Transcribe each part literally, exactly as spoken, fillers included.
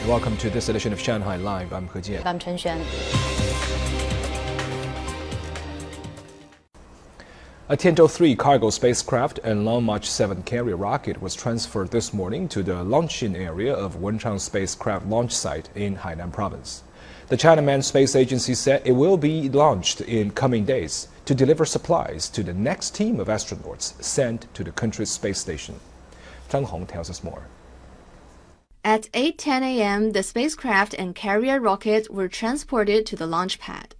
Welcome to this edition of Shanghai Live. I'm He Jian. I'm Chen Xuan. A Tianzhou three cargo spacecraft and Long March seven carrier rocket was transferred this morning to the launching area of Wenchang spacecraft launch site in Hainan province. The China Manned Space Agency said it will be launched in coming days to deliver supplies to the next team of astronauts sent to the country's space station. Zhang Hong tells us more. At eight ten a m, the spacecraft and carrier rocket were transported to the launch pad.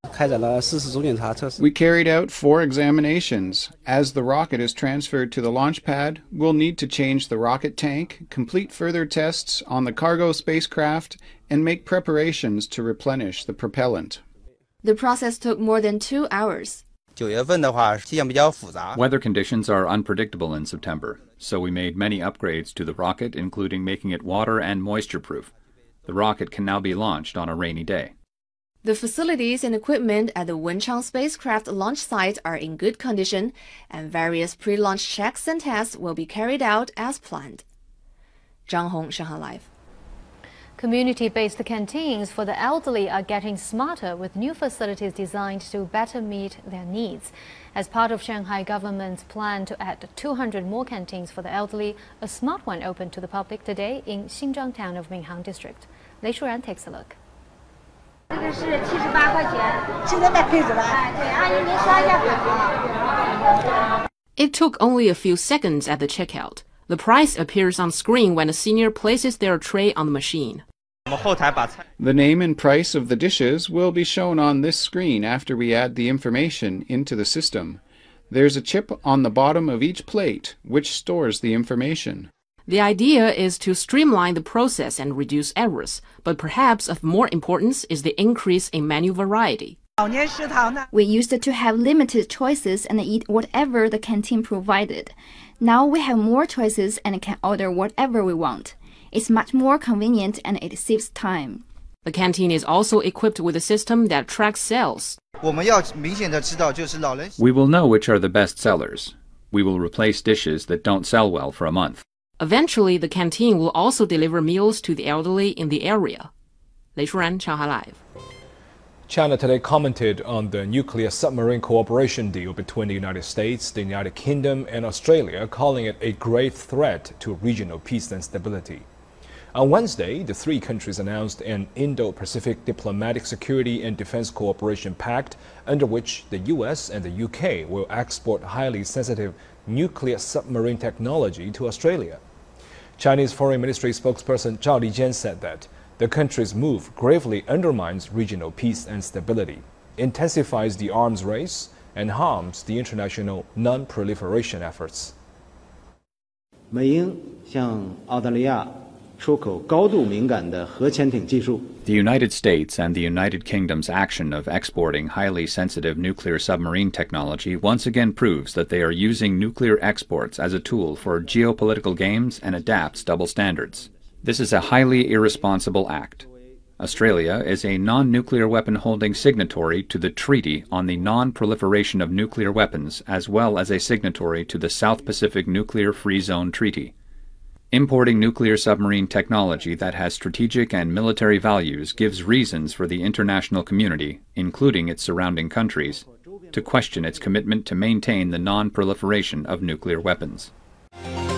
We carried out four examinations. As the rocket is transferred to the launch pad, we'll need to change the rocket tank, complete further tests on the cargo spacecraft, and make preparations to replenish the propellant. The process took more than two hours. Weather conditions are unpredictable in September, so we made many upgrades to the rocket, including making it water and moisture-proof. The rocket can now be launched on a rainy day. The facilities and equipment at the Wenchang spacecraft launch site are in good condition, and various pre-launch checks and tests will be carried out as planned. Zhang Hong, Shanghai Live. Community-based canteens for the elderly are getting smarter with new facilities designed to better meet their needs. As part of Shanghai government's plan to add two hundred more canteens for the elderly, a smart one opened to the public today in Xinzhang town of Minhang district. Lei Shuran takes a look. It took only a few seconds at the checkout. The price appears on screen when a senior places their tray on the machine. The name and price of the dishes will be shown on this screen after we add the information into the system. There's a chip on the bottom of each plate which stores the information. The idea is to streamline the process and reduce errors, but perhaps of more importance is the increase in menu variety. We used to have limited choices and eat whatever the canteen provided. Now we have more choices and can order whatever we want. It's much more convenient and it saves time. The canteen is also equipped with a system that tracks sales. We will know which are the best sellers. We will replace dishes that don't sell well for a month. Eventually, the canteen will also deliver meals to the elderly in the area. Lei Shuran, Shanghai Live. China today commented on the nuclear submarine cooperation deal between the United States, the United Kingdom, and Australia, calling it a grave threat to regional peace and stability. On Wednesday, the three countries announced an Indo-Pacific Diplomatic Security and Defense Cooperation Pact, under which the U S and the U K will export highly sensitive nuclear submarine technology to Australia. Chinese Foreign Ministry spokesperson Zhao Lijian said that the country's move gravely undermines regional peace and stability, intensifies the arms race, and harms the international non-proliferation efforts. The United States and the United Kingdom's action of exporting highly sensitive nuclear submarine technology once again proves that they are using nuclear exports as a tool for geopolitical games and adapts double standards. This is a highly irresponsible act. Australia is a non-nuclear weapon-holding signatory to the Treaty on the Non-Proliferation of Nuclear Weapons, as well as a signatory to the South Pacific Nuclear Free Zone Treaty. Importing nuclear submarine technology that has strategic and military values gives reasons for the international community, including its surrounding countries, to question its commitment to maintain the non-proliferation of nuclear weapons.